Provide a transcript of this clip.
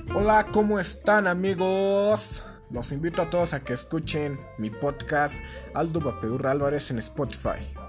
Hola, ¿cómo están amigos? Los invito a todos a que escuchen mi podcast Aldo Vapeur Álvarez en Spotify.